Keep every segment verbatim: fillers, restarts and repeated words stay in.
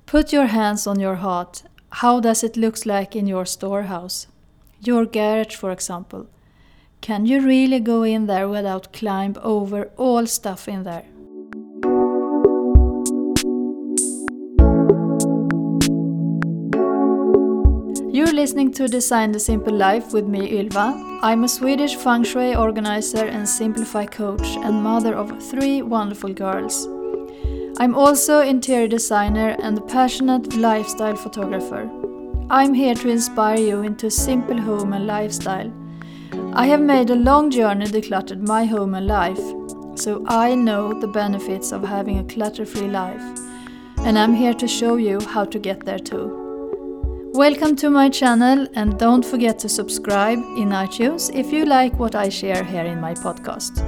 Put your hands on your heart. How does it look like in your storehouse? Your garage, for example. Can you really go in there without climb over all stuff in there? You're listening to Design the Simple Life with me, Ylva. I'm a Swedish feng shui organizer and simplify coach and mother of three wonderful girls. I'm also interior designer and a passionate lifestyle photographer. I'm here to inspire you into a simple home and lifestyle. I have made a long journey decluttered my home and life, so I know the benefits of having a clutter-free life. And I'm here to show you how to get there too. Welcome to my channel, and don't forget to subscribe in iTunes if you like what I share here in my podcast.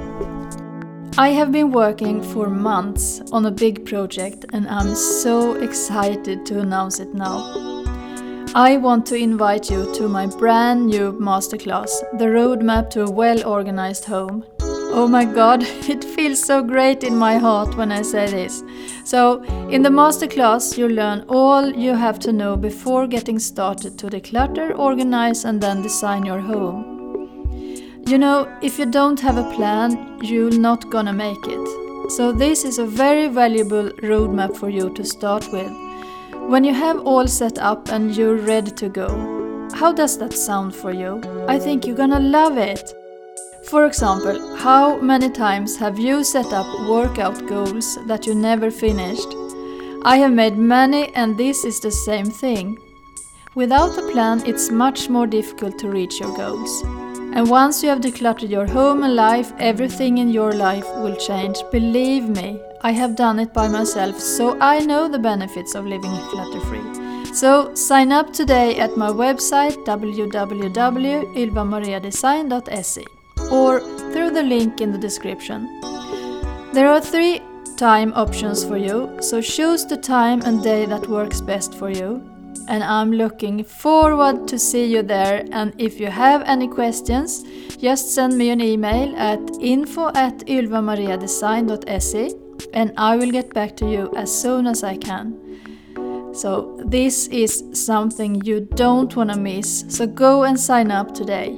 I have been working for months on a big project and I'm so excited to announce it now. I want to invite you to my brand new masterclass, The Roadmap to a Well-Organized Home. Oh my god, it feels so great in my heart when I say this. So, in the masterclass you learn all you have to know before getting started to declutter, organize and then design your home. You know, if you don't have a plan, you're not gonna make it. So this is a very valuable roadmap for you to start with. When you have all set up and you're ready to go, how does that sound for you? I think you're gonna love it. For example, how many times have you set up workout goals that you never finished? I have made many and this is the same thing. Without a plan, it's much more difficult to reach your goals. And once you have decluttered your home and life, everything in your life will change. Believe me, I have done it by myself, so I know the benefits of living clutter-free. So sign up today at my website w w w dot ylva maria design dot s e or through the link in the description. There are three time options for you, so choose the time and day that works best for you. And I'm looking forward to see you there, and if you have any questions, just send me an email at info at ylva maria design dot s e and I will get back to you as soon as I can. So this is something you don't want to miss, so go and sign up today.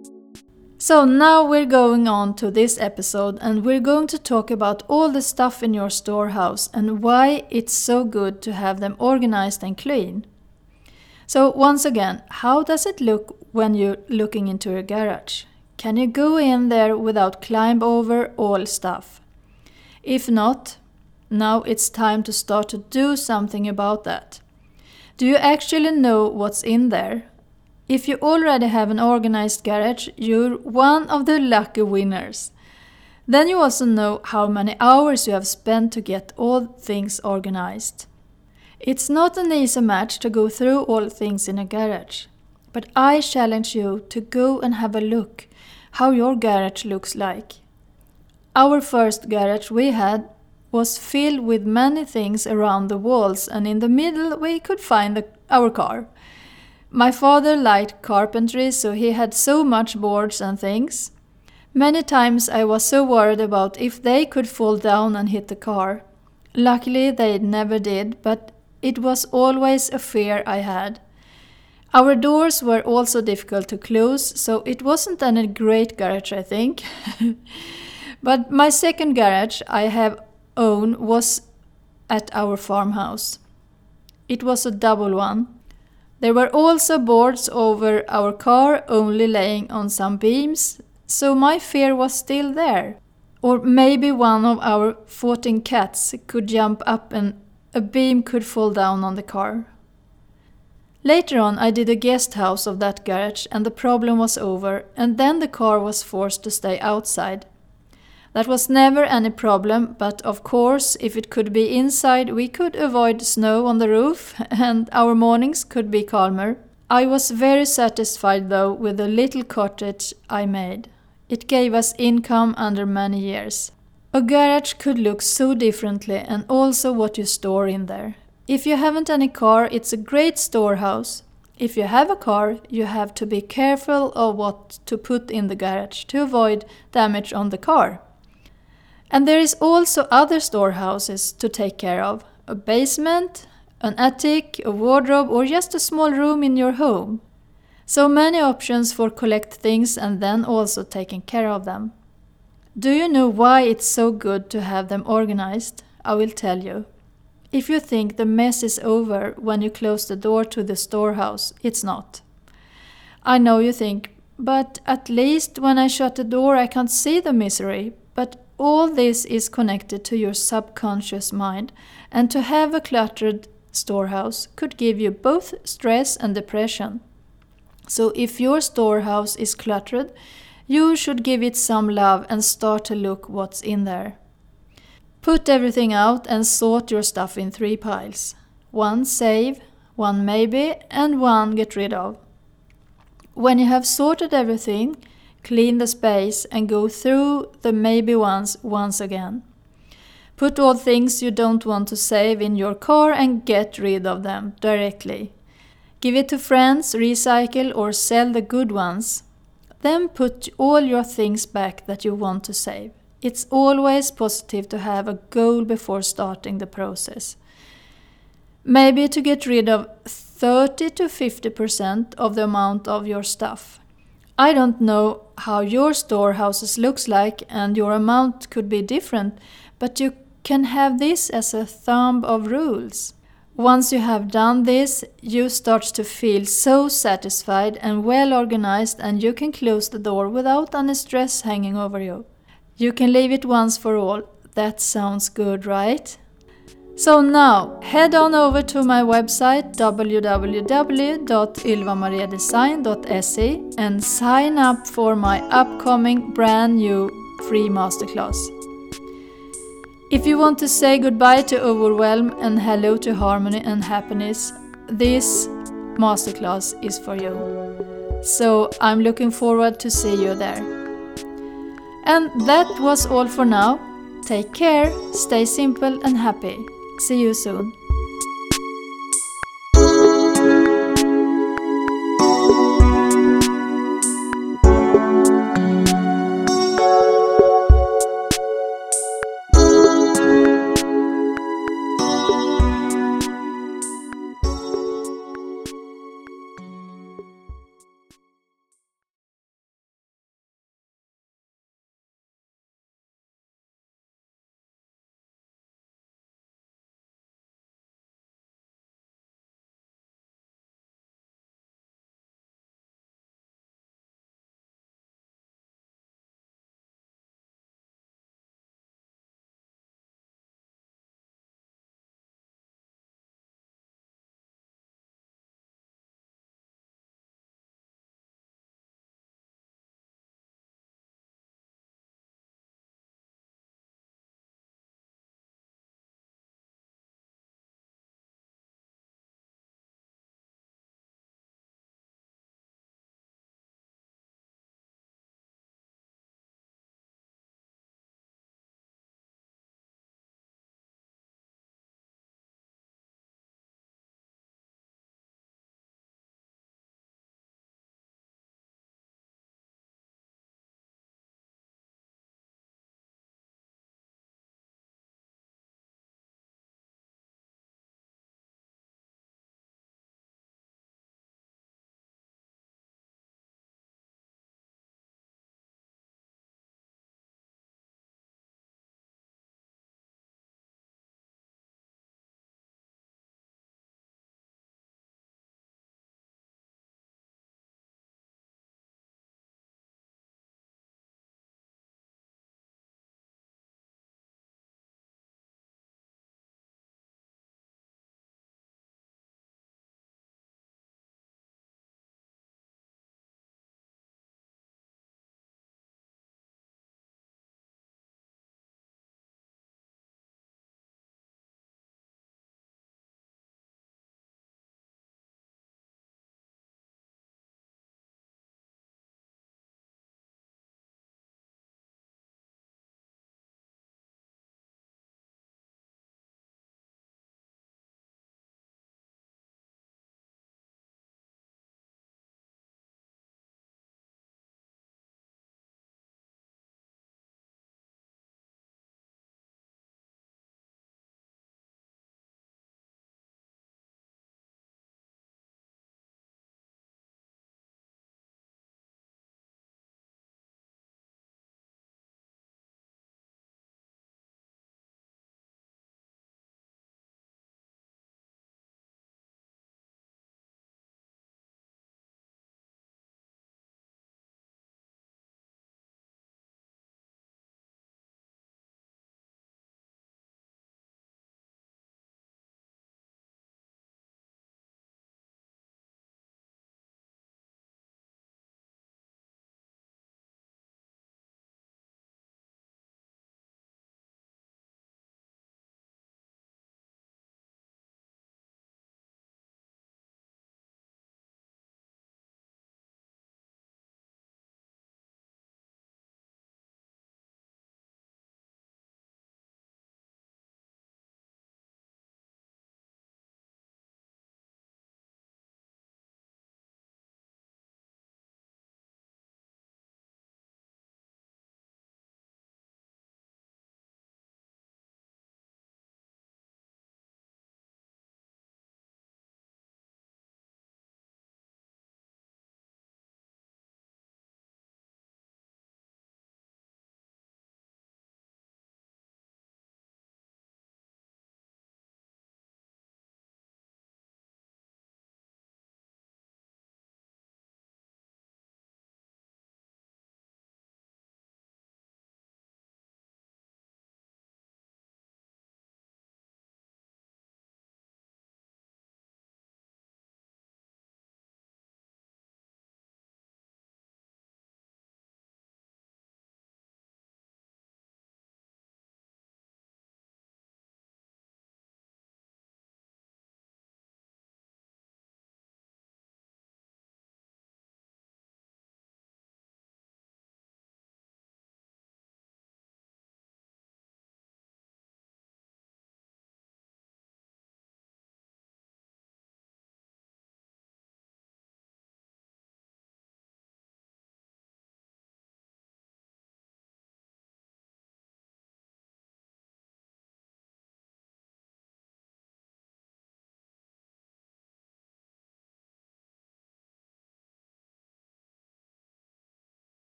So now we're going on to this episode and we're going to talk about all the stuff in your storehouse and why it's so good to have them organized and clean. So once again, how does it look when you're looking into your garage? Can you go in there without climb over all stuff? If not, now it's time to start to do something about that. Do you actually know what's in there? If you already have an organized garage, you're one of the lucky winners. Then you also know how many hours you have spent to get all things organized. It's not an easy match to go through all things in a garage, but I challenge you to go and have a look how your garage looks like. Our first garage we had was filled with many things around the walls, and in the middle we could find the, our car. My father liked carpentry, so he had so much boards and things. Many times I was so worried about if they could fall down and hit the car. Luckily they never did, but it was always a fear I had. Our doors were also difficult to close, so it wasn't any great garage, I think. But my second garage I have owned was at our farmhouse. It was a double one. There were also boards over our car, only laying on some beams, so my fear was still there. Or maybe one of our fourteen cats could jump up and a beam could fall down on the car. Later on I did a guest house of that garage and the problem was over, and then the car was forced to stay outside. That was never any problem, but of course if it could be inside we could avoid snow on the roof and our mornings could be calmer. I was very satisfied though with the little cottage I made. It gave us income under many years. A garage could look so differently, and also what you store in there. If you haven't any car, it's a great storehouse. If you have a car, you have to be careful of what to put in the garage to avoid damage on the car. And there is also other storehouses to take care of. A basement, an attic, a wardrobe, or just a small room in your home. So many options for collect things and then also taking care of them. Do you know why it's so good to have them organized? I will tell you. If you think the mess is over when you close the door to the storehouse, it's not. I know you think, but at least when I shut the door I can't see the misery. But all this is connected to your subconscious mind, and to have a cluttered storehouse could give you both stress and depression. So if your storehouse is cluttered, you should give it some love and start to look what's in there. Put everything out and sort your stuff in three piles. One save, one maybe, and one get rid of. When you have sorted everything, clean the space and go through the maybe ones once again. Put all things you don't want to save in your car and get rid of them directly. Give it to friends, recycle or sell the good ones. Then put all your things back that you want to save. It's always positive to have a goal before starting the process. Maybe to get rid of thirty to fifty percent of the amount of your stuff. I don't know how your storehouses looks like and your amount could be different, but you can have this as a thumb of rules. Once you have done this, you start to feel so satisfied and well organized, and you can close the door without any stress hanging over you. You can leave it once for all. That sounds good, right? So now, head on over to my website w w w dot ylvamariadesign dot s e and sign up for my upcoming brand new free masterclass. If you want to say goodbye to overwhelm and hello to harmony and happiness, this masterclass is for you. So I'm looking forward to see you there. And that was all for now. Take care, stay simple and happy. See you soon.